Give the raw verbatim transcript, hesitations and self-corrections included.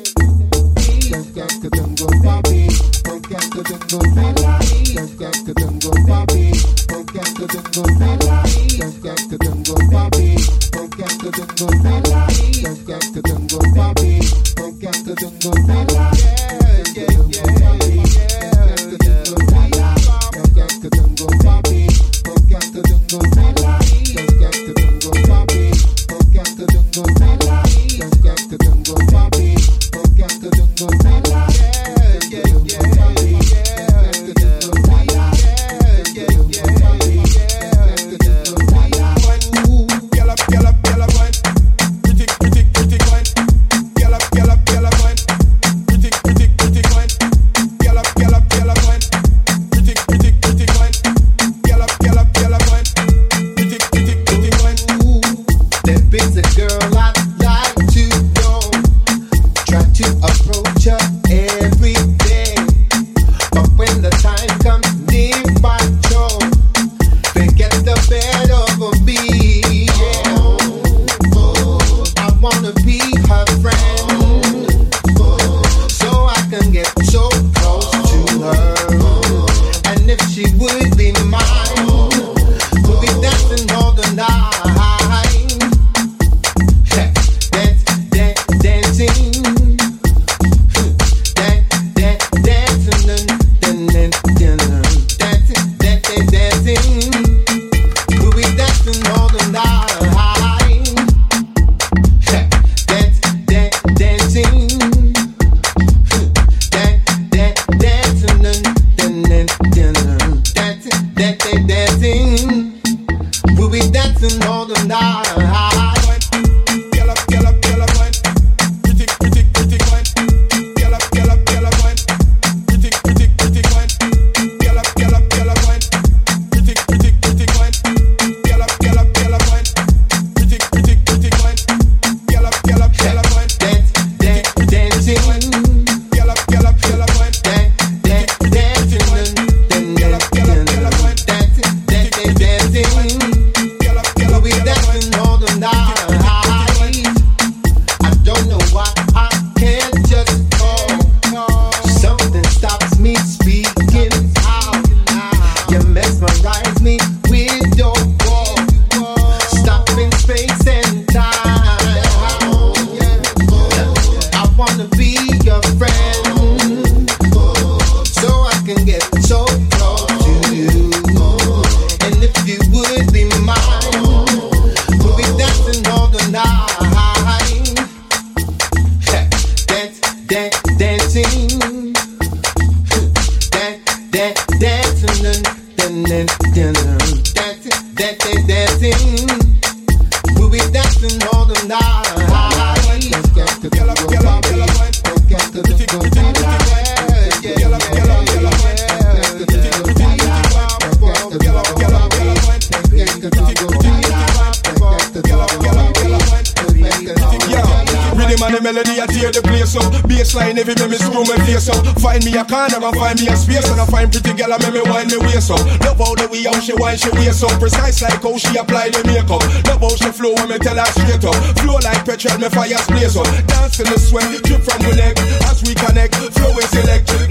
Baseline every me me screw me face up. Find me a corner and find me a space, and I find pretty girl and make me wind me waist up. Love how the way how she wind she waist up, precise like how she apply the makeup. Love how she flow when me tell her straight up. Flow like petrol, me fire blaze up. Dance in the sweat, drip from my neck as we connect. Flow is electric,